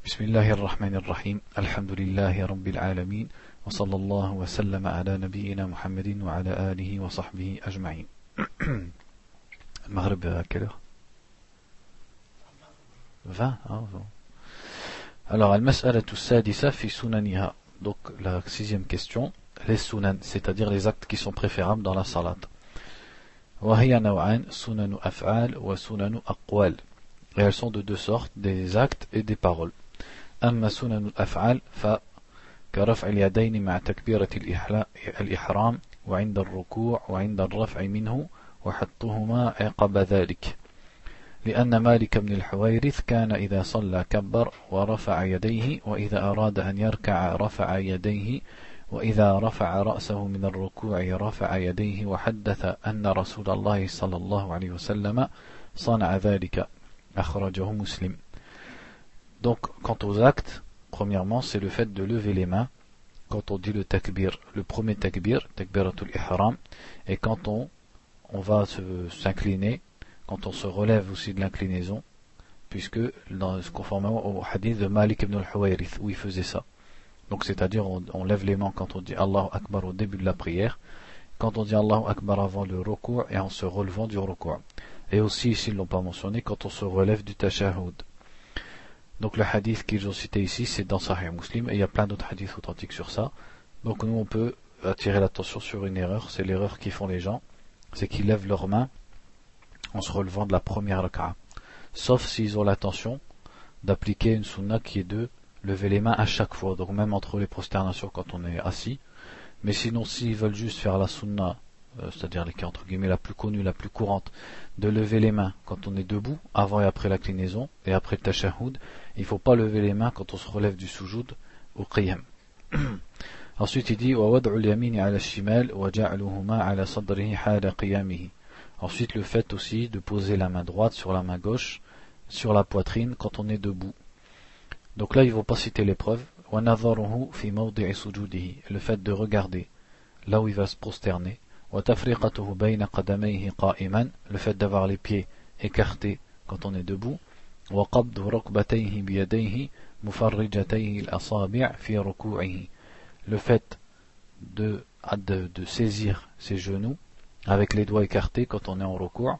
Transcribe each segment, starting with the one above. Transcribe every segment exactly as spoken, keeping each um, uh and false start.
بسم الله الرحمن الرحيم الحمد لله رب العالمين وصلى الله وسلم على نبينا محمد وعلى آله وصحبه أجمعين. المغرب à quelle heure? vingt hein, Alors المسألة السادسة في سننها. Donc la sixième question, les sunan, c'est-à-dire les actes qui sont préférables dans la salat. وهي نوعان سنن أفعال وسنن أقوال. Et elles sont de deux sortes, des actes et des paroles. أما سنن الأفعال فكرفع اليدين مع تكبيرة الإحرام وعند الركوع وعند الرفع منه وحطهما عقب ذلك، لأن مالك بن الحويرث كان إذا صلى كبر ورفع يديه، وإذا أراد أن يركع رفع يديه، وإذا رفع رأسه من الركوع رفع يديه، وحدث أن رسول الله صلى الله عليه وسلم صنع ذلك، أخرجه مسلم. Donc, quant aux actes, premièrement, c'est le fait de lever les mains quand on dit le takbir, le premier takbir, takbiratul ihram, et quand on, on va se, s'incliner, quand on se relève aussi de l'inclinaison, puisque, dans, conformément au hadith de Malik ibn al-Huwayrith, où il faisait ça. Donc, c'est-à-dire, on, on lève les mains quand on dit Allahu Akbar au début de la prière, quand on dit Allahu Akbar avant le ruku' et en se relevant du ruku'. Et aussi, s'ils ne l'ont pas mentionné, quand on se relève du tashahhud. Donc le hadith qu'ils ont cité ici, c'est dans Sahih Muslim, et il y a plein d'autres hadiths authentiques sur ça. Donc nous on peut attirer l'attention sur une erreur, c'est l'erreur qu'ils font les gens, c'est qu'ils lèvent leurs mains en se relevant de la première raka'a. Sauf s'ils ont l'intention d'appliquer une sunna qui est de lever les mains à chaque fois, donc même entre les prosternations quand on est assis. Mais sinon s'ils veulent juste faire la sunna, euh, c'est-à-dire les qui entre guillemets la plus connue, la plus courante, de lever les mains quand on est debout, avant et après l'inclinaison, et après le tashahhud, il ne faut pas lever les mains quand on se relève du sujoud au qiyam. Ensuite il dit ensuite le fait aussi de poser la main droite sur la main gauche sur la poitrine quand on est debout. Donc là ils ne vont pas citer l'épreuve. Le fait de regarder là où il va se prosterner. Le fait d'avoir les pieds écartés quand on est debout. Le fait de, de, de saisir ses genoux avec les doigts écartés quand on est en ruku',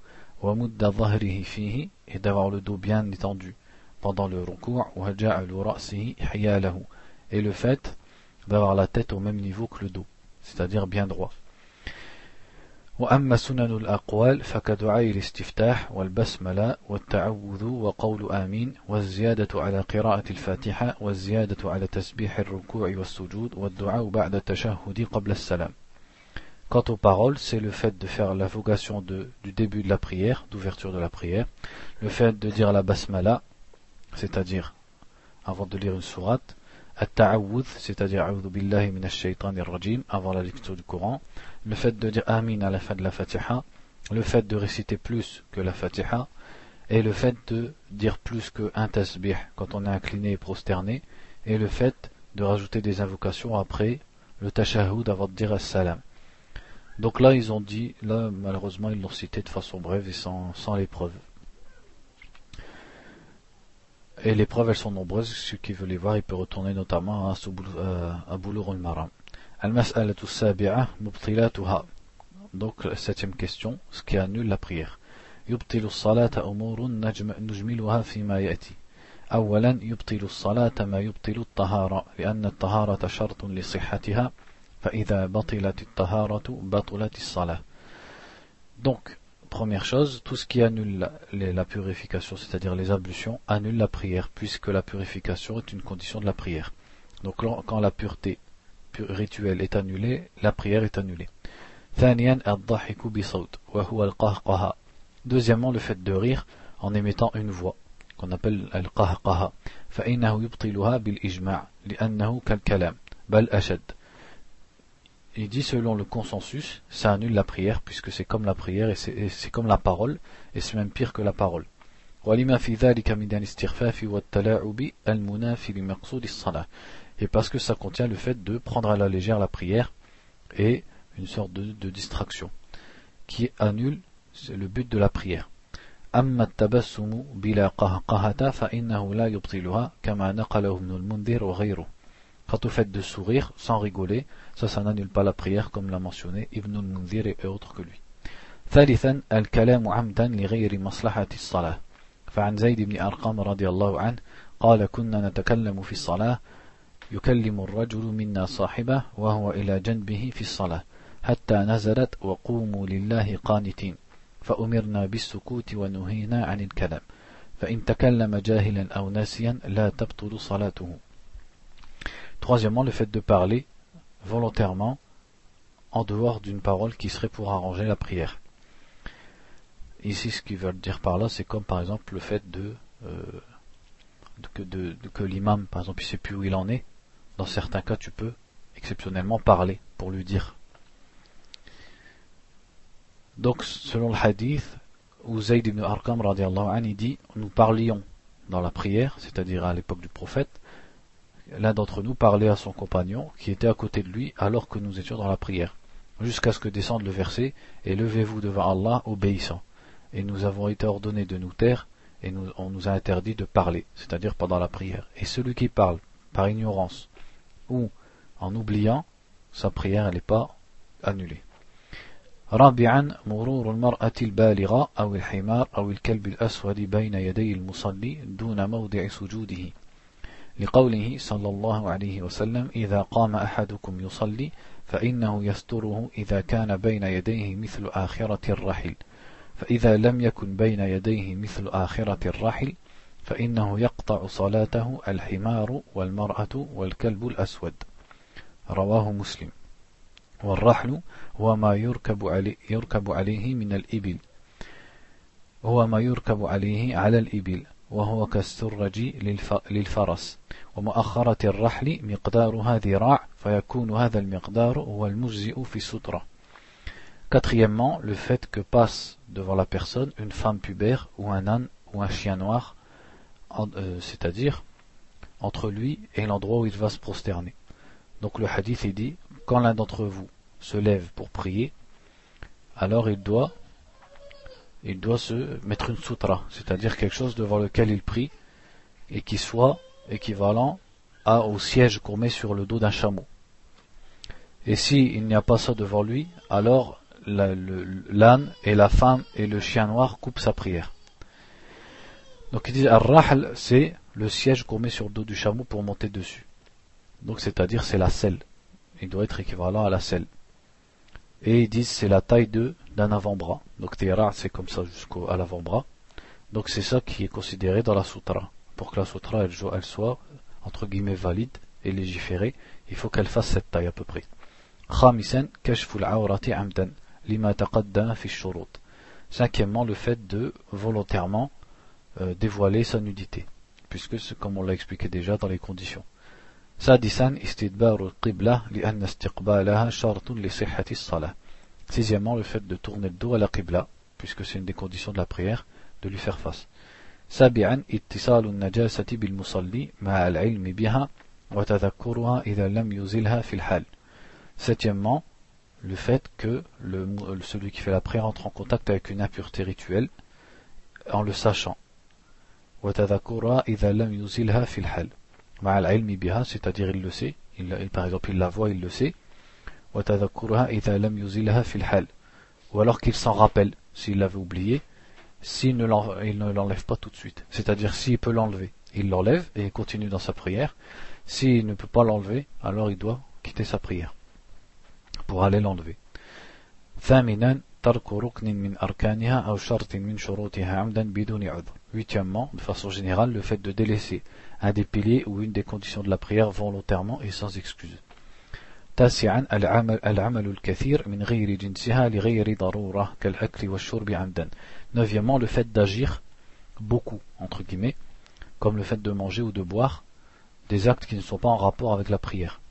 et d'avoir le dos bien étendu pendant le ruku', et le fait d'avoir la tête au même niveau que le dos, c'est-à-dire bien droit. وأما سنن الأقوال فكدعاء الاستفتاح والبسملة والتعوذ وقول آمين والزيادة على قراءة الفاتحة والزيادة على تسبيح الركوع والسجود والدعاء بعد التشهد قبل السلام. Quant aux paroles, c'est le fait de faire l'invocation de, du début de la prière, d'ouverture de la prière, le fait de dire la basmala, c'est-à-dire avant de lire une sourate, at-ta'awudh, c'est-à-dire a'udhu billahi minash shaytanir rajim, avant la lecture du Coran, le fait de dire amin à la fin de la fatiha, le fait de réciter plus que la fatiha, et le fait de dire plus qu'un tasbih quand on est incliné et prosterné, et le fait de rajouter des invocations après le tashahhud avant de dire as-salam. Donc là ils ont dit, là malheureusement ils l'ont cité de façon brève et sans, sans l'épreuve. Et les preuves elles sont nombreuses, ceux qui veulent les voir il peut retourner notamment à, à Boulough al-Maram. Al-Mas'alatu as-sabi'a mubtilatuha. Donc septième question, ce qui annule la prière. Yubtilu as-salata umurun nujmiluha fima ya'ti. أولا يبطل الصلاة ما يبطل الطهارة لأن الطهارة شرط لصحتها فإذا بطلت الطهارة بطلت الصلاة. Donc première chose, tout ce qui annule la, la purification, c'est-à-dire les ablutions, annule la prière, puisque la purification est une condition de la prière. Donc quand la pureté rituelle est annulée, la prière est annulée. Deuxièmement, le fait de rire en émettant une voix, qu'on appelle al-qahqaha. Il dit selon le consensus, ça annule la prière puisque c'est comme la prière et c'est, et c'est comme la parole et c'est même pire que la parole. Et parce que ça contient le fait de prendre à la légère la prière et une sorte de, de distraction qui annule le but de la prière. أما التبسم بلا قهقهة فإنه لا يبطلها كما نقله ابن المنذر وغيره. Quant au fait de sourire sans rigoler, ça, ça n'annule pas la prière comme l'a mentionné Ibn al-Munzir et autres que lui. ثالثا الكلام عمدا لغير مصلحة الصلاة. فعن زيد بن أرقم رضي الله عنه قال كنا نتكلم في الصلاة يكلم الرجل منا صاحبه وهو إلى جنبه في الصلاة حتى نزلت وقوموا لله قانتين فأمرنا بالسكوت ونهينا عن الكلام فإن تكلم جاهلا أو ناسيا لا تبطل صلاته. Troisièmement, le fait de parler volontairement en dehors d'une parole qui serait pour arranger la prière. Ici, ce qu'ils veulent dire par là, c'est comme par exemple le fait de, euh, de, de, de que l'imam, par exemple, il ne sait plus où il en est. Dans certains cas, tu peux exceptionnellement parler pour lui dire. Donc, selon le hadith, où Zayd ibn Arqam radiallahu anhu dit, nous parlions dans la prière, c'est-à-dire à l'époque du prophète. L'un d'entre nous parlait à son compagnon qui était à côté de lui alors que nous étions dans la prière, jusqu'à ce que descende le verset et levez-vous devant Allah obéissant. Et nous avons été ordonnés de nous taire et nous, on nous a interdit de parler, c'est-à-dire pendant la prière. Et celui qui parle par ignorance ou en oubliant, sa prière elle n'est pas annulée. رابعا مرور المرأة البالغة أو الحمار أو الكلب الأسود بين يدي المصلي دون موضع سجوده لقوله صلى الله عليه وسلم إذا قام أحدكم يصلي فإنه يستره إذا كان بين يديه مثل آخرة الرحل فإذا لم يكن بين يديه مثل آخرة الرحل فإنه يقطع صلاته الحمار والمرأة والكلب الأسود. رواه مسلم. والرحل هو ما يركب عليه, يركب عليه من الإبل هو ما يركب عليه على الإبل وهو كالسرج للفرس ومؤخرة الرحل مقدارها ذراع فيكون هذا المقدار هو المجزئ في السترة. Quatrièmement, le fait que passe devant la personne une femme pubère ou un âne ou un chien noir, euh, c'est-à-dire entre lui et l'endroit où il va se prosterner. Donc le hadith il dit, quand l'un d'entre vous se lève pour prier, alors il doit il doit se mettre une sutra, c'est-à-dire quelque chose devant lequel il prie et qui soit équivalent à, au siège qu'on met sur le dos d'un chameau. Et s'il n'y a pas ça devant lui, alors la, le, l'âne et la femme et le chien noir coupent sa prière. Donc ils disent ar-rahl, c'est le siège qu'on met sur le dos du chameau pour monter dessus. Donc c'est-à-dire c'est la selle. Il doit être équivalent à la selle. Et ils disent c'est la taille de d'un avant-bras. Donc tira c'est comme ça jusqu'à l'avant-bras. Donc c'est ça qui est considéré dans la sutra. Pour que la sutra elle, elle soit entre guillemets valide et légiférée, il faut qu'elle fasse cette taille à peu près. خامسا كشف العورة عمدا لما تقدم في الشروط. Cinquièmement, le fait de volontairement euh, dévoiler sa nudité, puisque c'est comme on l'a expliqué déjà dans les conditions. سادسا استدبار القبلة لأن استقبالها شرط لصحة الصلاة. Sixièmement, le fait de tourner le dos à la qibla, puisque c'est une des conditions de la prière, de lui faire face. سابعا اتصال النجاسة بالمصلي مع العلم بها وتذكرها إذا لم يزلها في الحال. Septièmement, le fait que le, celui qui fait la prière entre en contact avec une impureté rituelle en le sachant. وتذكرها إذا لم يزلها في الحال. مع العلم بها, c'est-à-dire il le sait, il, il, par exemple il la voit, il le sait. وتذكرها إذا لم يزلها في الحال. Ou alors qu'il s'en rappelle, s'il l'avait oublié, s'il ne il ne l'enlève pas tout de suite. C'est-à-dire s'il peut l'enlever, il l'enlève et il continue dans sa prière. S'il ne peut pas l'enlever, alors il doit quitter sa prière pour aller l'enlever. ثامنا ترك ركن من أركانها أو شرط من شروطها عمدا بدون عذر. Huitièmement, de façon générale, le fait de délaisser un des piliers ou une des conditions de la prière volontairement et sans excuse. تاسعا العمل العمل الكثير من غير جنسها لغير ضرورة كالأكل والشرب عمدا. Neuvièmement, le fait d'agir beaucoup, entre guillemets, comme le fait de manger ou de boire, des actes qui ne sont pas en rapport avec la prière.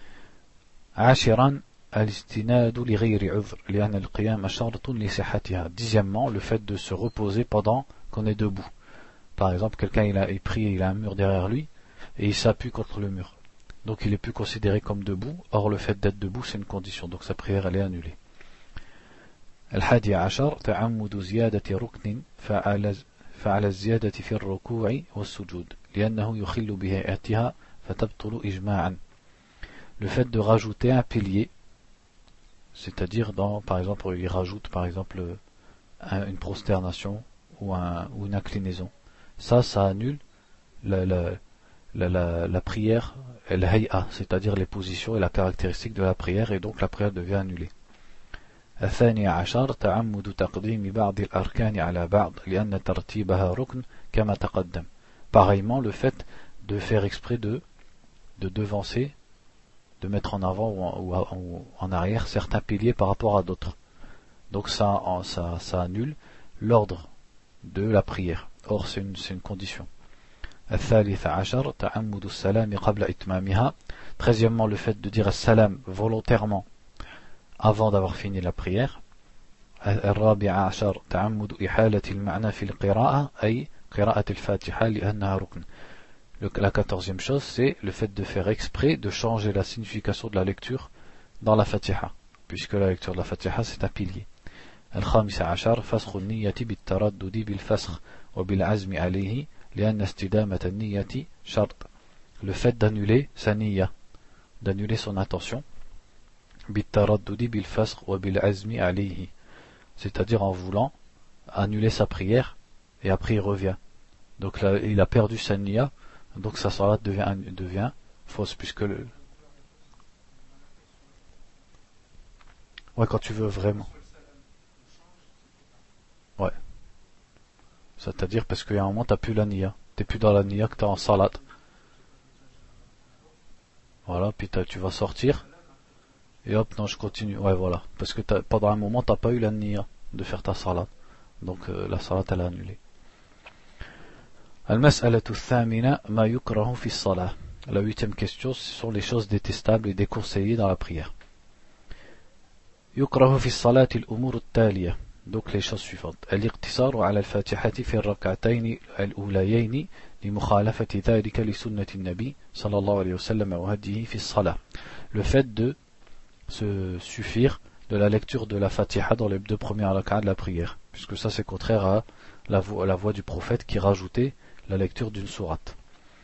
عاشرا الاستناد لغير عذر لأن القيام شرط لصحتها. Dixièmement, le fait de se reposer pendant qu'on est debout. Par exemple, quelqu'un il a il prie, il a un mur derrière lui et il s'appuie contre le mur. Donc il est plus considéré comme debout. Or le fait d'être debout c'est une condition. Donc sa prière elle est annulée. الحادي عشر تعمد زيادة ركن فعلى فعلى الزيادة في الركوع والسجود لأنه يخل بهيئتها فتبطل إجماعا. Le fait de rajouter un pilier, c'est-à-dire dans, par exemple, il rajoute par exemple un, une prosternation ou, un, ou une inclinaison. Ça, ça annule la, la, la, la, la prière, la hay'a, c'est-à-dire les positions et la caractéristique de la prière, et donc la prière devient annulée. الثاني عشر تعمد تقديم بعض الأركان على بعض لأن ترتيبها ركن كما تقدم. Pareillement, le fait de faire exprès de, de devancer, de mettre en avant ou en, ou en, ou en arrière certains piliers par rapport à d'autres. Donc ça, ça, ça annule l'ordre de la prière. Or c'est une, c'est une condition. الثالث عشر تعمد السلام قبل إتمامها. Treizièmement, le fait de dire salam volontairement avant d'avoir fini la prière. الرابع عشر تعمد إحالة المعنى في القراءة أي قراءة الفاتحة لأنها ركن. La quatorzième chose, c'est le fait de faire exprès de changer la signification de la lecture dans la Fatiha, puisque la lecture de la Fatiha c'est un pilier. الخامس عشر فسخ النية بالتردد بالفسخ وبالعزم عليه لأن استدامة النية شرط. Le fait d'annuler sa niyya, d'annuler son intention, بالتردد بالفسخ وبالعزم عليه, c'est-à-dire en voulant annuler sa prière et après il revient. Donc là, il a perdu sa niyya, donc sa salat devient, devient fausse, puisque le... Ouais, quand tu veux vraiment. Ouais. C'est-à-dire parce qu'il y a un moment, t'as plus la niyya. T'es plus dans la niyya que t'es en salat. Voilà, puis tu vas sortir. Et hop, non, je continue. Ouais, voilà. Parce que pendant un moment, t'as pas eu la niyya de faire ta salat. Donc euh, la salat, elle est annulée. المسألة الثامنة ما يكره في الصلاة. La huitième question, ce sont les choses détestables et déconseillées dans la prière. يكره في الصلاة الأمور التالية. Donc les choses suivantes. الاقتصار على الفاتحة في الركعتين الأوليين لمخالفة ذلك لسنة النبي صلى الله عليه وسلم وهديه في الصلاة. Le fait de se suffire de la lecture de la Fatiha dans les deux premières rak'ah de la prière, puisque ça c'est contraire à la voix, à la voix du prophète qui rajoutait la lecture d'une sourate.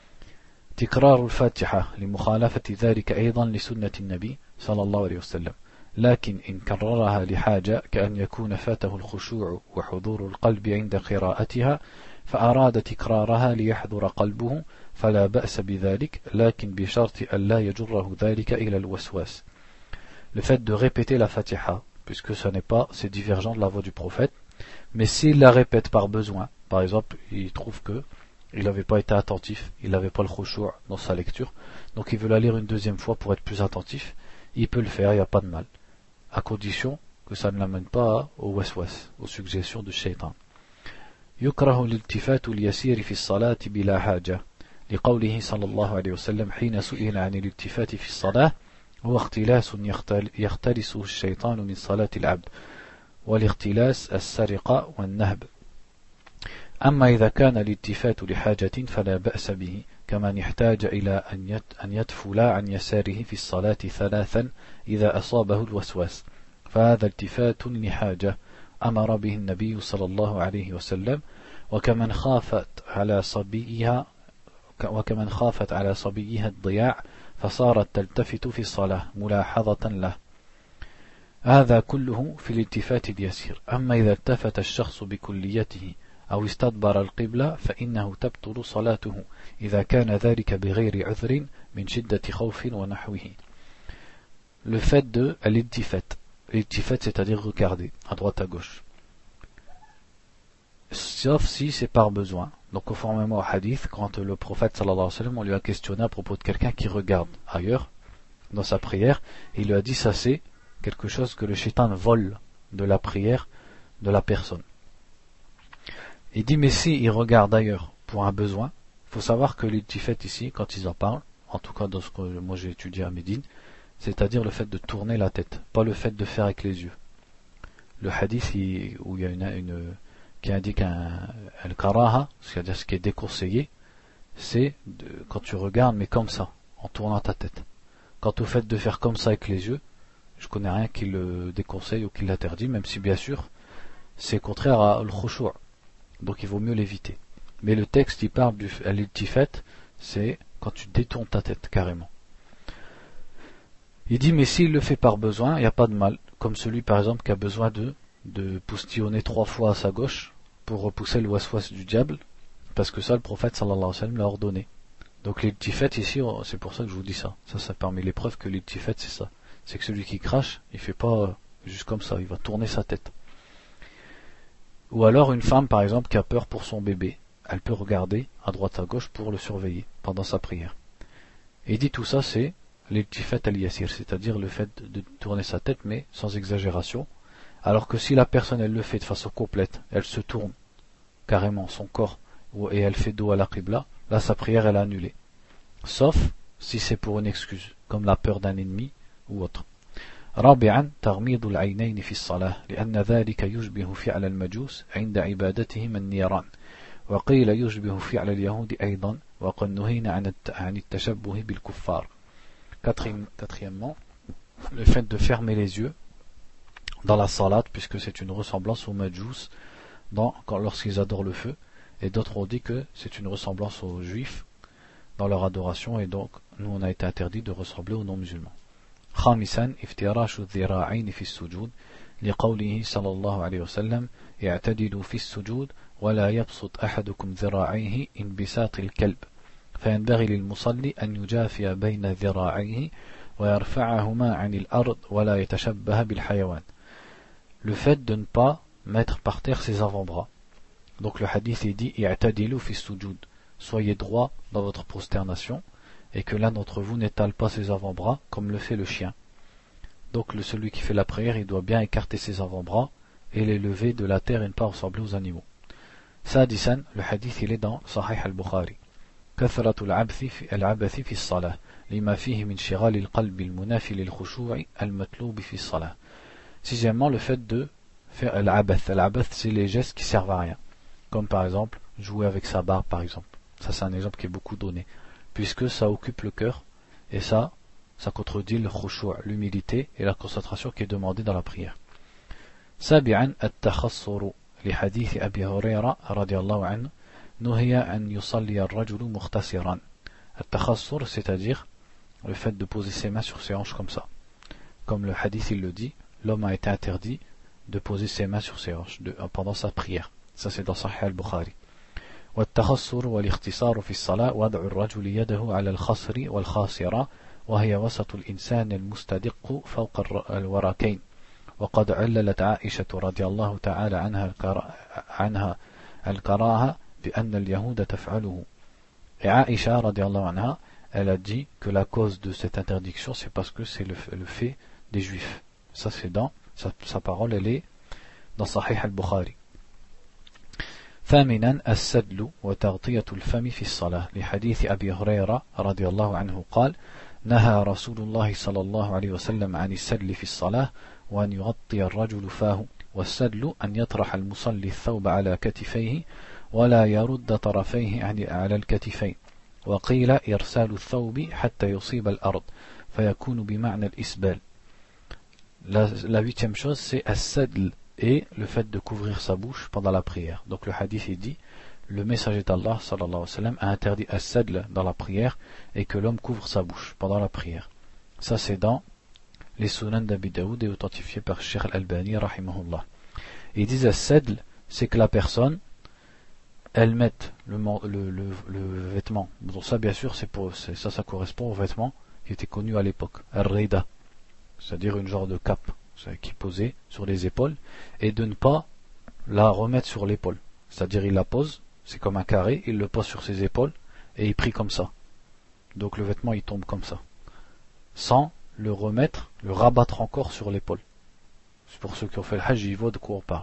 تكرار الفاتحة لمخالفة ذلك أيضا لسنة النبي صلى الله عليه وسلم، لكن إن كررها لحاجة كأن يكون فاته الخشوع وحضور القلب عند قراءتها فأراد تكرارها ليحضر قلبه فلا بأس بذلك، لكن بشرط أن لا يجره ذلك إلى الوسواس. Le fait de répéter la Fatiha, puisque ce n'est pas, c'est divergent de la voix du prophète, mais s'il la répète par besoin, par exemple, il trouve que il n'avait pas été attentif, il n'avait pas le khushu' dans sa lecture, donc il veut la lire une deuxième fois pour être plus attentif, il peut le faire, il n'y a pas de mal, à condition que ça ne l'amène pas au waswas, aux suggestions du shaitan. يكره الالتفات اليسير في الصلاة بلا حاجة لقوله صلى الله عليه وسلم حين سئل عن الالتفات في الصلاة هو اختلاس يختلسه الشيطان من صلاة العبد والاختلاس السرقة والنهب. أما إذا كان الالتفات لحاجة فلا بأس به كمن يحتاج إلى أن يتفل عن يساره في الصلاة ثلاثا إذا أصابه الوسواس فهذا التفات لحاجة أمر به النبي صلى الله عليه وسلم وكمن خافت على صبيها وكمن خافت على صبيها الضياع فصارت تلتفت في الصلاة ملاحظة له. هذا كله في الالتفات اليسير. أما إذا التفت الشخص بكليته أو استدبر القبلة فإنه تبطل صلاته إذا كان ذلك بغير عذر من شدة خوف ونحوه. Le fait de l'iltifat. L'iltifat, c'est-à-dire regarder à droite à gauche. Sauf si c'est par besoin. Donc conformément au hadith, quand le prophète sallallahu alayhi wa sallam, on lui a questionné à propos de quelqu'un qui regarde ailleurs dans sa prière, et il lui a dit ça c'est quelque chose que le shaitan vole de la prière de la personne. Il dit mais si il regarde ailleurs pour un besoin, il faut savoir que l'iltifat ici, quand ils en parlent, en tout cas dans ce que moi j'ai étudié à Médine, c'est-à-dire le fait de tourner la tête, pas le fait de faire avec les yeux. Le hadith il, où il y a une, une qui indique un al-karaha, c'est-à-dire ce qui est déconseillé, c'est de, quand tu regardes mais comme ça, en tournant ta tête. Quant au fait de faire comme ça avec les yeux, je connais rien qui le déconseille ou qui l'interdit, même si bien sûr c'est contraire à l'khushu', donc il vaut mieux l'éviter. Mais le texte il parle du al-iltifat, c'est quand tu détournes ta tête carrément. Il dit mais s'il le fait par besoin, il n'y a pas de mal, comme celui par exemple qui a besoin de, de poustillonner trois fois à sa gauche pour repousser le waswas du diable, parce que ça le prophète sallallahu alayhi wa sallam l'a ordonné. Donc l'iltifat ici, c'est pour ça que je vous dis ça. Ça, c'est parmi les preuves que l'iltifat c'est ça. C'est que celui qui crache, il fait pas juste comme ça, il va tourner sa tête. Ou alors une femme par exemple qui a peur pour son bébé, elle peut regarder à droite à gauche pour le surveiller pendant sa prière. Et il dit tout ça c'est l'iltifat al-yasir, c'est-à-dire le fait de tourner sa tête mais sans exagération. Alors que si la personne elle le fait de façon complète, elle se tourne carrément son corps et elle fait dos à la qibla, là sa prière elle est annulée. Sauf si c'est pour une excuse, comme la peur d'un ennemi ou autre. رابعا تغميض العينين في الصلاة لأن ذلك يشبه فعل المجوس عند عبادتهم النيران وقيل يشبه فعل اليهود أيضا وقد نهينا عن التشبه بالكفار. Quatrièmement, le fait de fermer les yeux dans la salat, puisque c'est une ressemblance aux majous dans, quand, lorsqu'ils adorent le feu, et d'autres ont dit que c'est une ressemblance aux juifs dans leur adoration, et donc nous on a été interdit de ressembler aux non-musulmans. خامسا افتراش الذراعين في السجود لقوله صلى الله عليه وسلم اعتدلوا في السجود ولا يبسط أحدكم ذراعيه انبساط الكلب فينبغي للمصلي أن يجافي بين ذراعيه ويرفعهما عن الأرض ولا يتشبه بالحيوان. Le fait de ne pas mettre par terre ses avant-bras. Donc le hadith est dit i'tadilu fi sujud, soyez droit dans votre prosternation et que l'un d'entre vous n'étale pas ses avant-bras comme le fait le chien. Donc le, celui qui fait la prière il doit bien écarter ses avant-bras et les lever de la terre et ne pas ressembler aux animaux. Sadisan, le hadith il est dans Sahih al-Bukhari. كثرة العبث في العبث في الصلاة لما فيه من شغال القلب المنافي للخشوع المطلوب في الصلاة. Sixièmement, le fait de faire l'abeth. L'abeth, c'est les gestes qui servent à rien. Comme par exemple, jouer avec sa barbe, par exemple. Ça, c'est un exemple qui est beaucoup donné. Puisque ça occupe le cœur, et ça, ça contredit le khushu', l'humilité et la concentration qui est demandée dans la prière. سابعا التخصر لحديث أبي هريرة رضي الله عنه نهي أن يصلي الرجل مختصرا. التخصر, c'est-à-dire le fait de poser ses mains sur ses hanches comme ça. Comme le hadith il le dit, l'homme a été interdit de poser ses mains sur ses hanches de, pendant sa prière. Ça c'est dans Sahih al-Bukhari. والتخصر والاختصار في الصلاة وضع الرجل يده على الخصر والخاصرة وهي وسط الإنسان المستدق فوق الوركين وقد عللت عائشة رضي الله تعالى عنها عنها الكراهة بأن اليهود تفعله. Et Aïcha radiallahu anha, elle a dit que la cause de cette interdiction c'est parce que c'est le, le fait des juifs. Ça c'est dans sa, sa parole, elle est dans Sahih al-Bukhari. ثامنا السدل وتغطية الفم في الصلاة لحديث أبي هريرة رضي الله عنه قال نهى رسول الله صلى الله عليه وسلم عن السدل في الصلاة وأن يغطي الرجل فاه والسدل أن يطرح المصلي الثوب على كتفيه ولا يرد طرفيه على الكتفين وقيل إرسال الثوب حتى يصيب الأرض فيكون بمعنى الإسبال. La, la huitième chose c'est as-sadl et le fait de couvrir sa bouche pendant la prière. Donc le hadith est dit le messager d'Allah sallallahu alayhi wa sallam a interdit as-sadl dans la prière et que l'homme couvre sa bouche pendant la prière. Ça c'est dans les Sunan d'Abi Daoud et authentifié par Cheikh Al-Albani rahimahullah. Ils disent as-sadl, c'est que la personne elle met le, le, le, le vêtement. Bon, ça bien sûr c'est pour c'est, ça ça correspond au vêtement qui était connu à l'époque, ar-rida, c'est-à-dire une genre de cape qui posait sur les épaules, et de ne pas la remettre sur l'épaule. C'est-à-dire il la pose, c'est comme un carré, il le pose sur ses épaules et il prie comme ça. Donc le vêtement il tombe comme ça, sans le remettre, le rabattre encore sur l'épaule. C'est pour ceux qui ont fait le hajj, ils voient de quoi on parle.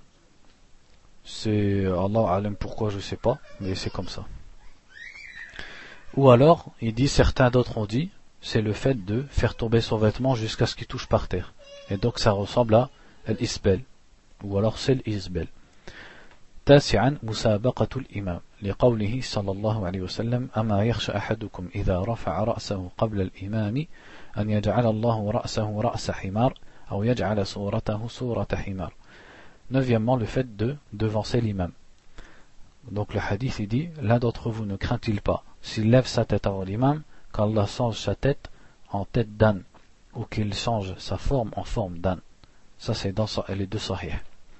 C'est Allah alam pourquoi je sais pas, mais c'est comme ça. Ou alors, il dit, certains d'autres ont dit, c'est le fait de faire tomber son vêtement jusqu'à ce qu'il touche par terre. Et donc ça ressemble à l'isbel, ou alors c'est l'isbel. تاسعا مسابقة الإمام لقوله صلى الله عليه وسلم أما يخشى أحدكم إذا رفع رأسه قبل الإمام أن يجعل الله رأسه رأس حمار أو يجعل صورته صورة حمار. Neuvièmement, le fait de devancer l'imam. Donc le hadith il dit, l'un d'entre vous ne craint-il pas, s'il lève sa tête avant l'imam, qu'Allah change sa tête en tête d'âne, ou qu'il change sa forme en forme d'âne. Ça c'est dans les deux sahih.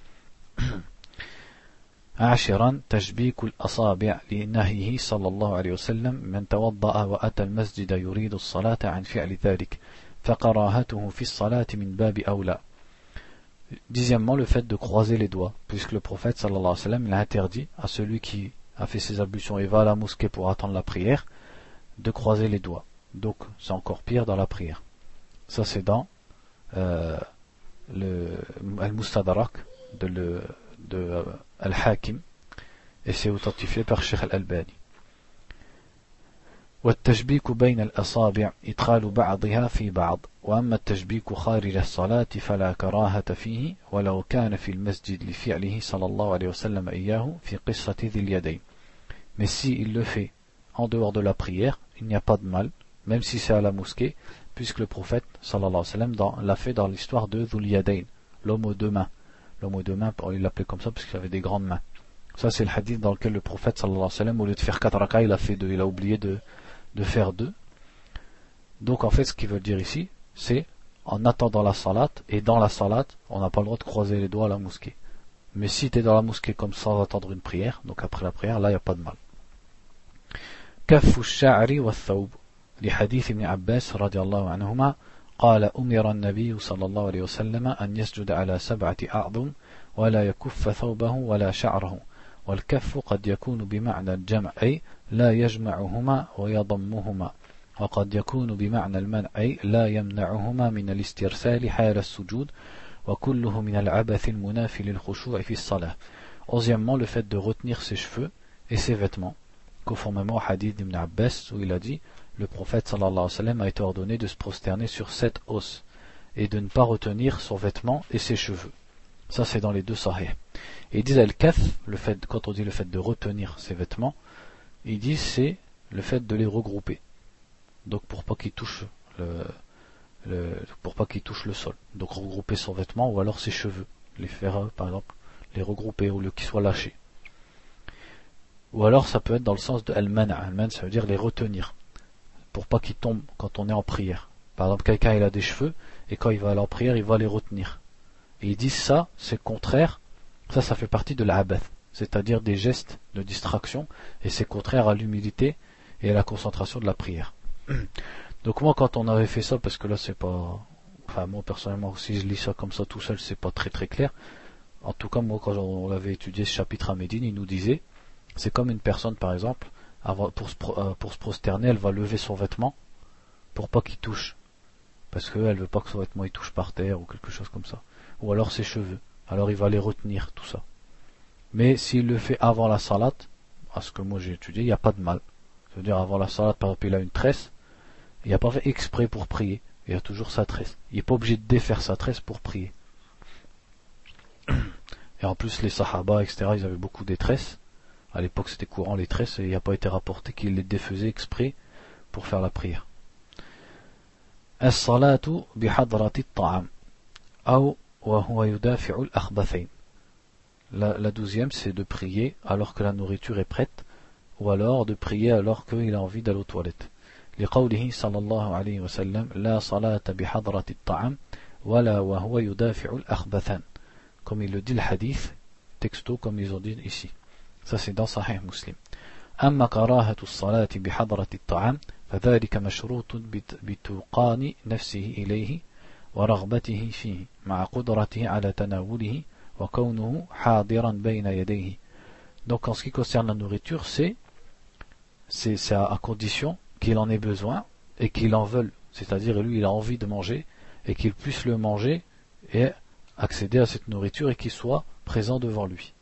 عاشرا تشبيك الأصابع لنهيه صلى الله عليه وسلم من توضأ وأتى المسجد يريد الصلاة عن فعل ذلك فكراهته في الصلاة من باب أولى. Dixièmement, le fait de croiser les doigts, puisque le prophète sallallahu alayhi wa sallam il a interdit à celui qui a fait ses ablutions et va à la mosquée pour attendre la prière de croiser les doigts. Donc c'est encore pire dans la prière. Ça c'est dans euh, le Al-Mustadrak de, le, de euh, Al-Hakim et c'est authentifié par Cheikh Al-Albani. والتشبيك بين الأصابع إدخال بعضها في بعض وأما التشبيك خارج الصلاة فلا كراهة فيه ولو كان في المسجد لفعله صلى الله عليه وسلم إياه في قصة ذي اليدين. Mais si il le fait en dehors de la prière, il n'y a pas de mal, même si c'est à la mosquée, puisque le prophète sallallahu alayhi wa sallam l'a fait dans l'histoire de Dhul Yadayn, l'homme aux deux mains. L'homme aux deux mains, il l'appelait comme ça parce qu'il avait des grandes mains. Ça c'est le hadith dans lequel le prophète sallallahu alayhi wa sallam, au lieu de faire quatre rakas, il a fait deux, il a oublié de de faire deux. Donc en fait ce qu'il veut dire ici c'est en attendant la salat, et dans la salat on n'a pas le droit de croiser les doigts à la mosquée, mais si tu es dans la mosquée comme sans attendre une prière, donc après la prière, là il n'y a pas de mal. كف الشعر والثوب لحديث ابن عباس رضي الله عنهما قال أمر النبي صلى الله عليه وسلم أن يسجد على سبعة أعظم ولا يكف ثوبه ولا شعره والكف قد يكون بمعنى الجمع أي لا يجمعهما ويضمهما وقد يكون بمعنى المنع أي لا يمنعهما من الاسترسال حال السجود وكله من العبث المنافي للخشوع في الصلاة. Onzièmement, le fait de retenir ses cheveux et ses vêtements, conformément au hadith d'Ibn Abbas où il a dit le prophète sallallahu alayhi wa sallam a été ordonné de se prosterner sur sept os et de ne pas retenir son vêtement et ses cheveux. Ça c'est dans les deux sahih. Et ils disent al-kaf, le fait, quand on dit le fait de retenir ses vêtements, ils disent c'est le fait de les regrouper. Donc pour pas qu'ils touchent le, le pour pas qu'ils touchent le sol. Donc regrouper son vêtement ou alors ses cheveux, les faire par exemple les regrouper au lieu qu'ils soient lâchés. Ou alors ça peut être dans le sens de al-man', al-man' ça veut dire les retenir pour pas qu'ils tombent quand on est en prière. Par exemple quelqu'un il a des cheveux et quand il va aller en prière il va les retenir. Et ils disent ça c'est contraire. Ça, ça fait partie de l'abath, c'est-à-dire des gestes de distraction, et c'est contraire à l'humilité et à la concentration de la prière. Donc moi, quand on avait fait ça, parce que là, c'est pas... Enfin, moi, personnellement, si je lis ça comme ça tout seul, c'est pas très très clair. En tout cas, moi, quand on avait étudié ce chapitre à Médine, il nous disait, c'est comme une personne, par exemple, pour se, pour se prosterner, elle va lever son vêtement pour pas qu'il touche, parce qu'elle veut pas que son vêtement il touche par terre ou quelque chose comme ça. Ou alors ses cheveux. Alors il va les retenir, tout ça. Mais s'il le fait avant la salat, à ce que moi j'ai étudié, il n'y a pas de mal. C'est-à-dire avant la salat, par exemple, il a une tresse, il n'a pas fait exprès pour prier, il a toujours sa tresse. Il n'est pas obligé de défaire sa tresse pour prier. Et en plus les sahaba, et cetera, ils avaient beaucoup des tresses. À l'époque c'était courant les tresses, et il n'a pas été rapporté qu'ils les défaisaient exprès pour faire la prière. As-salatu bihadrati at-ta'am. Aw La, la douzième, c'est de prier alors que la nourriture est prête, ou alors de prier alors qu'il a envie d'aller aux toilettes. لقوله صلى الله عليه وسلم لا صلاة بحضرة الطعام ولا وهو يدافع الأخبثان. Comme il le dit le hadith, texto comme ils ont dit ici. Ça c'est dans Sahih Muslim. أما كراهة الصلاة بحضرة الطعام فذلك مشروط بتوقان نفسه إليه ورغبته فيه مع قدرته على تناوله وكونه حاضرا بين يديه. Donc en ce qui concerne la nourriture, c'est c'est, c'est à, à condition qu'il en ait besoin et qu'il en veuille, c'est-à-dire lui il a envie de manger et qu'il puisse le manger et accéder à cette nourriture et qu'il soit présent devant lui.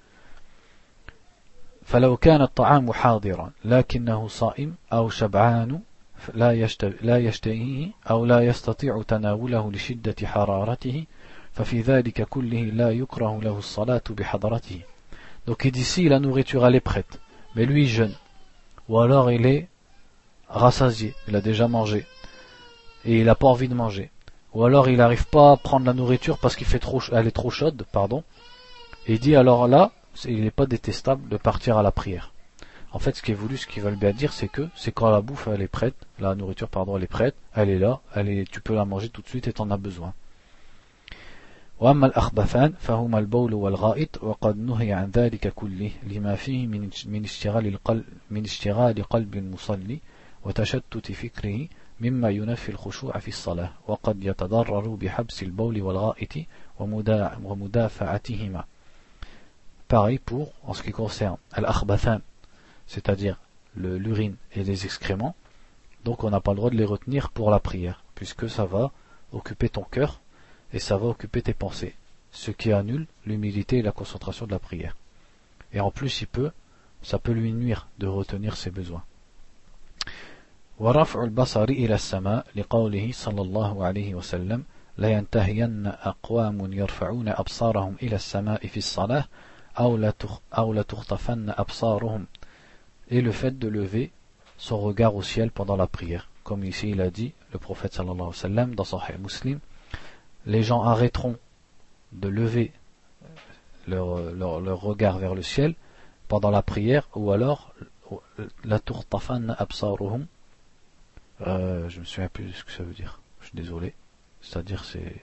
فلو كان الطعام حاضرا لكنه صائم أو شبعان لا يشتهيه أو لا يستطيع تناوله لشدة حرارته ففي ذلك كله لا يكره له الصلاة بحضرته. Donc il dit si la nourriture elle est prête, mais lui il jeûne, ou alors il est rassasié, il a déjà mangé, et il n'a pas envie de manger, ou alors il n'arrive pas à prendre la nourriture parce qu'il fait trop, elle est trop chaude, pardon, et il dit alors là, il n'est pas détestable de partir à la prière. En fait, ce qui est voulu, ce qu'ils veulent bien dire, c'est que c'est quand la bouffe elle est prête, la nourriture pardon elle est prête, elle est là, elle est, tu peux la manger tout de suite et t'en as besoin. وأما الأخبثان فهما البول والغائط وقد نهي عن ذلك كله لما فيه من من اشتغال القلب من اشتغال قلب المصلي وتشتت فكره مما ينفي الخشوع في الصلاة وقد يتضرر بحبس البول والغائط ومدافعتهما. Pareil pour en ce qui concerne al-akhbathan, c'est-à-dire le, l'urine et les excréments, donc on n'a pas le droit de les retenir pour la prière, puisque ça va occuper ton cœur et ça va occuper tes pensées, ce qui annule l'humilité et la concentration de la prière. Et en plus, il peut, ça peut lui nuire de retenir ses besoins. ورفع البصر إلى السماء لقوله صلى الله عليه وسلم لا ينتهين أقوام يرفعون أبصارهم إلى السماء في الصلاة أو لا تخطفن أبصارهم. Et le fait de lever son regard au ciel pendant la prière, comme ici il a dit le prophète sallallahu alayhi wa sallam dans Sahih Muslim, les gens arrêteront de lever leur, leur, leur regard vers le ciel pendant la prière, ou alors la tukhtafanna absaruhum, euh, je me souviens plus de ce que ça veut dire, je suis désolé, c'est-à-dire c'est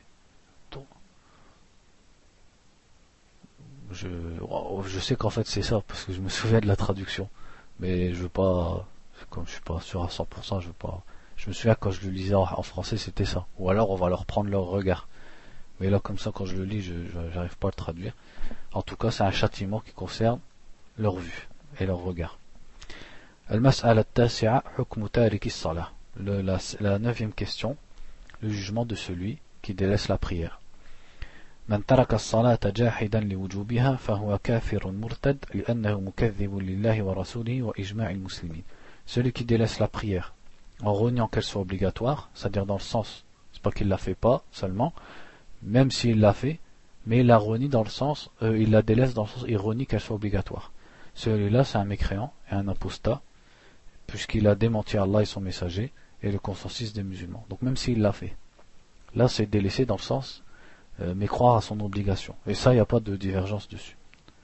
je, je sais qu'en fait c'est ça parce que je me souviens de la traduction, mais je veux pas, comme je suis pas sûr à cent pour cent, je veux pas, je me souviens quand je le lisais en, en français c'était ça, ou alors on va leur prendre leur regard, mais là comme ça quand je le lis je, je j'arrive pas à le traduire. En tout cas c'est un châtiment qui concerne leur vue et leur regard. Al-mas'ala at-tasi'a hukmu tariki as-salah. La, la neuvième question, le jugement de celui qui délaisse la prière. من ترك الصلاة جاحدا لوجوبها فهو كافر مرتد لأنه مكذب لله ورسوله وإجماع المسلمين. Celui qui délaisse la prière en reniant qu'elle soit obligatoire, c'est-à-dire dans le sens, c'est pas qu'il la fait pas seulement, même s'il l'a fait, mais il la renie dans le sens, euh, il la délaisse dans le sens, il renie qu'elle soit obligatoire. Celui-là c'est un mécréant et un apostat, puisqu'il a démenti Allah et son messager et le consensus des musulmans. Donc même s'il l'a fait, là c'est délaissé dans le sens Euh, mais croire à son obligation. Et ça, il n'y a pas de divergence dessus.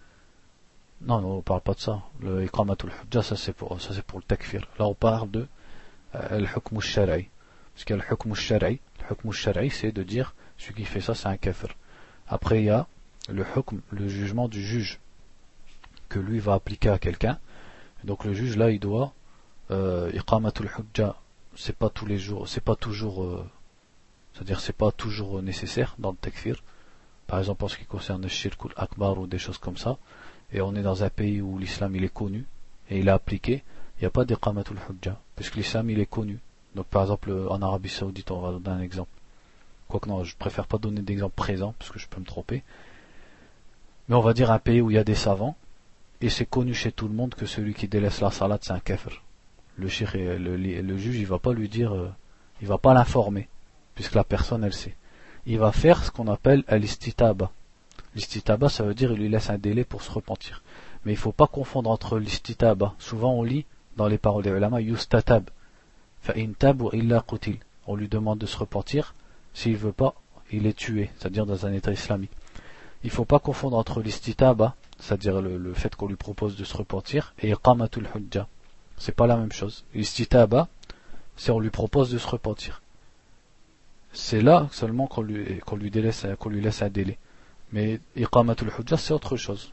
Non, non, on ne parle pas de ça. Le iqamatul hujja, ça c'est pour, ça c'est pour le takfir. Là, on parle de euh, le hukm al-shar'i. Parce qu'il y a le hukm al-shar'i. Le hukm al-shar'i, c'est de dire, celui qui fait ça, c'est un kafir. Après, il y a le hukm, le jugement du juge, que lui va appliquer à quelqu'un. Donc le juge, là, il doit, euh, iqamatul hujja, c'est pas tous les jours, c'est pas toujours... Euh, c'est-à-dire c'est pas toujours nécessaire dans le takfir, par exemple en ce qui concerne le shirk ou l'akbar ou des choses comme ça, et on est dans un pays où l'islam il est connu et il est appliqué, il n'y a pas d'iqamatul hujja, puisque l'islam il est connu. Donc par exemple en Arabie Saoudite, on va donner un exemple, quoique non, je préfère pas donner d'exemple présent parce que je peux me tromper, mais on va dire un pays où il y a des savants, et c'est connu chez tout le monde que celui qui délaisse la salat c'est un kafir. Le shirk, le, le, le juge il va pas lui dire, euh, il va pas l'informer, puisque la personne elle sait. Il va faire ce qu'on appelle l'istitaba. L'istitaba, ça veut dire il lui laisse un délai pour se repentir. Mais il ne faut pas confondre entre l'istitaba. Souvent on lit dans les paroles des ulama yustatab. Fa'in tab wa illa qutil. On lui demande de se repentir. S'il veut pas, il est tué, c'est-à-dire dans un état islamique. Il ne faut pas confondre entre l'istitaba, c'est-à-dire le, le fait qu'on lui propose de se repentir, et iqamatul hujja. C'est pas la même chose. L'istitaba, c'est on lui propose de se repentir. C'est là seulement qu'on lui, qu'on lui, délaisse, qu'on lui laisse un délai. Mais iqamatul hujja c'est autre chose.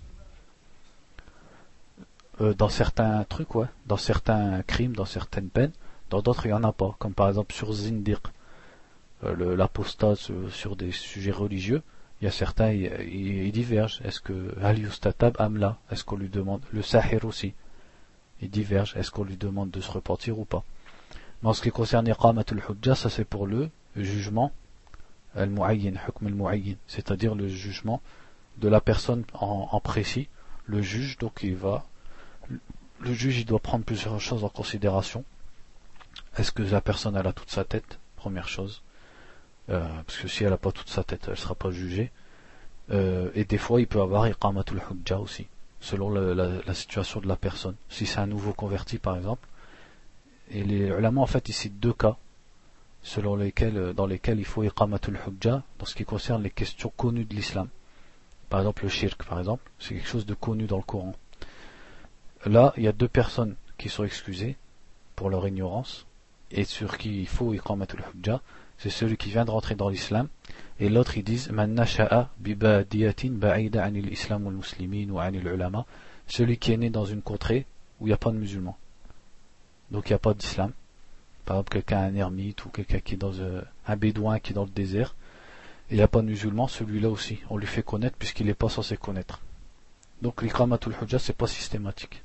Euh, dans certains trucs, ouais, dans certains crimes, dans certaines peines, dans d'autres il n'y en a pas. Comme par exemple sur Zindiq, euh, l'apostat sur, sur des sujets religieux, il y a certains, ils, ils, ils divergent. Est-ce que Al yustatab amla, est-ce qu'on lui demande, le sahir aussi, ils divergent, est-ce qu'on lui demande de se repentir ou pas. Mais en ce qui concerne iqamatul hujja, ça c'est pour le jugement al-mu'ayyin, hukm al-mu'ayyin, c'est-à-dire le jugement de la personne en, en précis. Le juge, donc il va, le juge il doit prendre plusieurs choses en considération. Est-ce que la personne elle a toute sa tête, première chose, euh, parce que si elle n'a pas toute sa tête, elle ne sera pas jugée. Euh, et des fois il peut avoir iqamatul hujja aussi, selon le, la, la situation de la personne. Si c'est un nouveau converti par exemple, et les ulama en fait ici deux cas selon lesquels, dans lesquels il faut iqamatul hujja dans ce qui concerne les questions connues de l'islam. Par exemple le shirk par exemple, c'est quelque chose de connu dans le Coran. Là il y a deux personnes qui sont excusées pour leur ignorance et sur qui il faut iqamatul hujja. C'est celui qui vient de rentrer dans l'islam, et l'autre ils disent man nasha'a bi badiyatin ba'ida 'anil islam wal muslimin wa 'anil ulama, celui qui est né dans une contrée où il n'y a pas de musulmans, donc il n'y a pas d'islam. Par exemple quelqu'un un ermite ou quelqu'un qui est dans un, un bédouin qui est dans le désert et il n'y a pas de musulmans, celui-là aussi on lui fait connaître puisqu'il n'est pas censé connaître. Donc l'iqamatul hujja c'est pas systématique.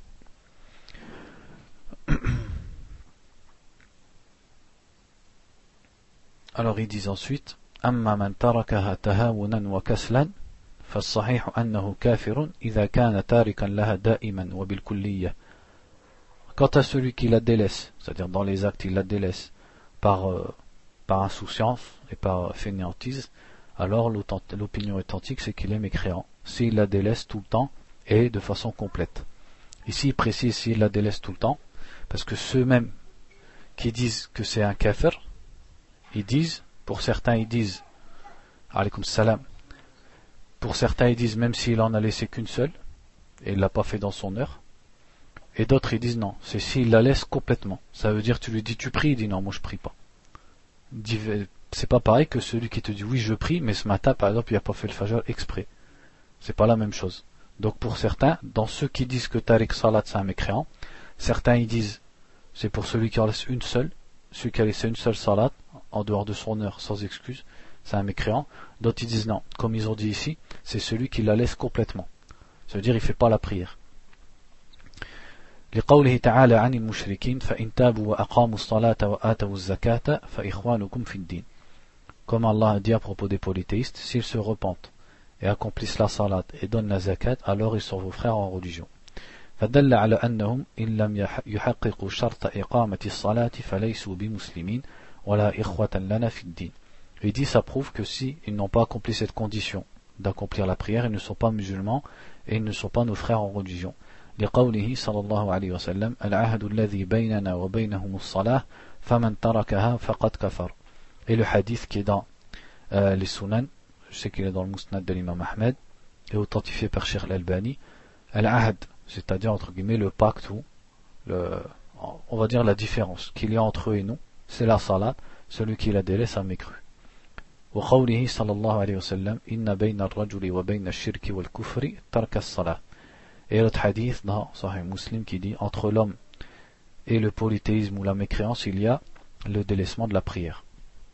Alors ils disent ensuite أما من تركها تهاونا وكسلا فالصحيح أنه كافر إذا كان تاركا لها دائما وبالكلية. Quant à celui qui la délaisse, c'est-à-dire dans les actes il la délaisse par, euh, par insouciance et par fainéantise, alors l'opinion authentique c'est qu'il est mécréant s'il la délaisse tout le temps et de façon complète. Ici il précise s'il la délaisse tout le temps, parce que ceux-mêmes qui disent que c'est un kafir, ils disent, pour certains ils disent, alaykoum salam, pour certains ils disent même s'il en a laissé qu'une seule, et il l'a pas fait dans son heure, et d'autres ils disent non, c'est s'il la laisse complètement. Ça veut dire tu lui dis tu pries, il dit non moi je prie pas. C'est pas pareil que celui qui te dit oui je prie, mais ce matin par exemple il a pas fait le fajr exprès. C'est pas la même chose. Donc pour certains, dans ceux qui disent que Tariq Salat c'est un mécréant, certains ils disent c'est pour celui qui en laisse une seule, celui qui a laissé une seule salat en dehors de son heure sans excuse, c'est un mécréant. D'autres ils disent non, comme ils ont dit ici, c'est celui qui la laisse complètement. Ça veut dire il fait pas la prière. لقوله تعالى عن المشركين فإن تابوا وأقاموا الصلاة وآتوا الزكاة فإخوانكم في الدين. Comme Allah a dit à propos des polythéistes, s'ils se repentent et accomplissent la salat et donnent la zakat, alors ils sont vos frères en religion. فدل على أنهم إن لم يحققوا شرط إقامة الصلاة فليسوا بمسلمين ولا إخوة لنا في الدين. Il dit ça prouve que si ils n'ont pas accompli cette condition d'accomplir la prière, ils ne sont pas musulmans et ils ne sont pas nos frères en religion. لقوله صلى الله عليه وسلم العهد الذي بيننا وبينهم الصلاة فمن تركها فقد كفر. Et le hadith qui est dans euh, les Sunan, je sais qu'il est dans le Musnad de l'imam Ahmed et authentifié par Cheikh Al-Albani, al-ahd, c'est-à-dire entre guillemets le pacte ou le, on va dire la différence qu'il y a entre eux et nous, c'est la salat, celui qui la délaisse a mécru. وقوله صلى الله عليه وسلم إن بين الرجل وبين الشرك والكفر ترك الصلاة. Et l'autre hadith dans Sahih Muslim qui dit entre l'homme et le polythéisme ou la mécréance il y a le délaissement de la prière.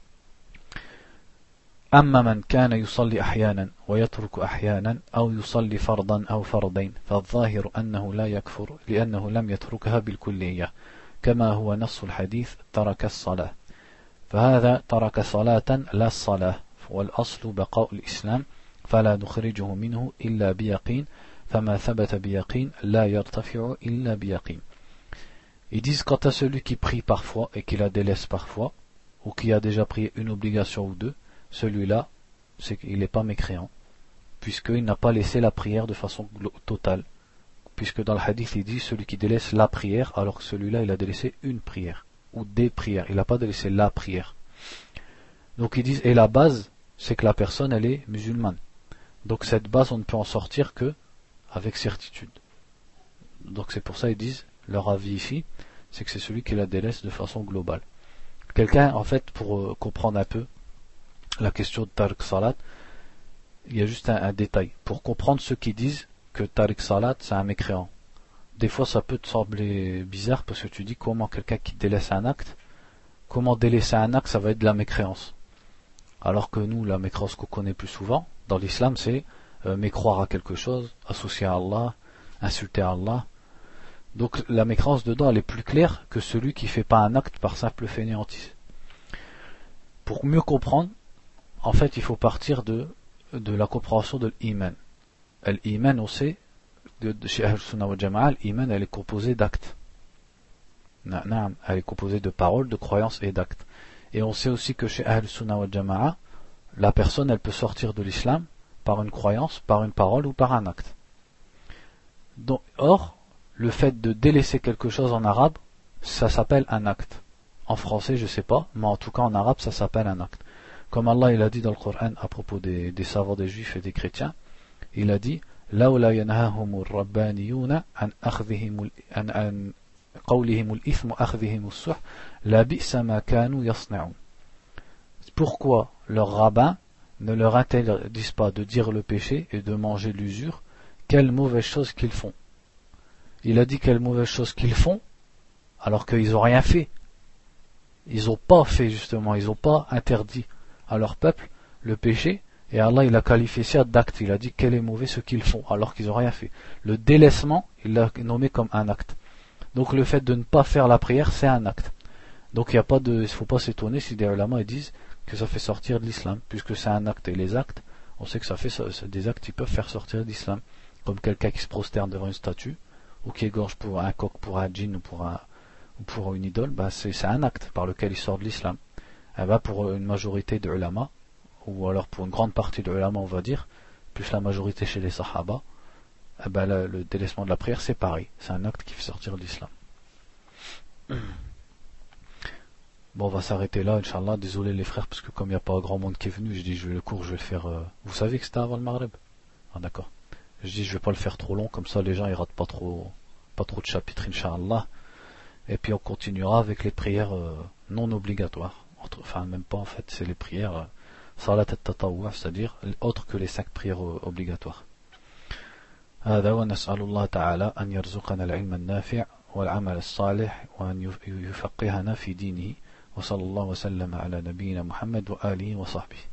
أما من كان يصلي أحيانا ويترك أحيانا أو يصلي فرضا أو فرضين فالظاهر أنه لا يكفر لأنه لم يتركها بالكلية كما هو نص الحديث ترك الصلاة فهذا ترك صلاة لا الصلاة والأصل بقاء الإسلام فلا نخرجه منه إلا بيقين فما ثبت بيقين لا يرتفع إلا بيقين. Ils disent quant à celui qui prie parfois et qui la délaisse parfois ou qui a déjà prié une obligation ou deux, celui-là, c'est qu'il n'est pas mécréant, puisqu'il n'a pas laissé la prière de façon totale. Puisque dans le hadith, il dit celui qui délaisse la prière, alors que celui-là, il a délaissé une prière, ou des prières. Il n'a pas délaissé la prière. Donc ils disent, et la base, c'est que la personne, elle est musulmane. Donc cette base, on ne peut en sortir que avec certitude. Donc c'est pour ça ils disent, leur avis ici, c'est que c'est celui qui la délaisse de façon globale. Quelqu'un, en fait, pour euh, comprendre un peu la question de Tariq Salat, il y a juste un, un détail. Pour comprendre ceux qui disent que Tariq Salat c'est un mécréant. Des fois ça peut te sembler bizarre parce que tu dis comment quelqu'un qui délaisse un acte, comment délaisser un acte ça va être de la mécréance. Alors que nous, la mécréance qu'on connaît plus souvent, dans l'islam c'est euh, mécroire à quelque chose, associer à Allah, insulter à Allah. Donc la mécréance dedans elle est plus claire que celui qui fait pas un acte par simple fainéantise. Pour mieux comprendre, en fait, il faut partir de, de la compréhension de l'iman. L'iman, on sait, de, de chez Ahl-Sunnah wa Jama'a, l'iman, elle est composée d'actes. Elle est composée de paroles, de croyances et d'actes. Et on sait aussi que chez Ahl-Sunnah wa Jama'a, la personne, elle peut sortir de l'islam par une croyance, par une parole ou par un acte. Donc, or, le fait de délaisser quelque chose en arabe, ça s'appelle un acte. En français, je sais pas, mais en tout cas en arabe, ça s'appelle un acte. Comme Allah il a dit dans le Coran à propos des, des savants des juifs et des chrétiens, il a dit لولا ينهاهم الربانيون عن أخذهم عن عن قولهم الإثم أخذهم السحت لبئس ما كانوا يصنعون. Pourquoi leurs rabbins ne leur interdisent pas de dire le péché et de manger l'usure? Quelle mauvaise chose qu'ils font. Il a dit quelle mauvaise chose qu'ils font alors qu'ils n'ont rien fait. Ils n'ont pas fait justement, ils n'ont pas interdit à leur peuple le péché. Et Allah il a qualifié ça d'acte, il a dit quel est mauvais ce qu'ils font alors qu'ils n'ont rien fait. Le délaissement, il l'a nommé comme un acte. Donc le fait de ne pas faire la prière, c'est un acte. Donc il y a pas de, il faut pas s'étonner si des ulama ils disent que ça fait sortir de l'islam, puisque c'est un acte. Et les actes, on sait que ça fait des actes qui peuvent faire sortir de l'islam. Comme quelqu'un qui se prosterne devant une statue, ou qui égorge pour un coq, pour un djinn ou pour, un, ou pour une idole, ben c'est, c'est un acte par lequel il sort de l'islam. Et ben pour une majorité de ulama, ou alors pour une grande partie de ulama on va dire, plus la majorité chez les sahaba, eh ben le, le délaissement de la prière c'est pareil, c'est un acte qui fait sortir de l'islam. Bon, on va s'arrêter là, Inch'Allah, désolé les frères, parce que comme il n'y a pas grand monde qui est venu, je dis je vais le cours, je vais le faire, euh... vous savez que c'était avant le Maghreb? Ah d'accord, je dis je vais pas le faire trop long, comme ça les gens ils ratent pas trop, pas trop de chapitres Inch'Allah, et puis on continuera avec les prières euh, non obligatoires, enfin même pas en fait, c'est les prières euh, Salat al-Tatawwa, c'est-à-dire autres que les cinq prières obligatoires. هذا ونسأل الله تعالى أن يرزقنا العلم النافع والعمل الصالح وأن يفقهنا في دينه وصلى الله وسلم على نبينا محمد وآله وصحبه.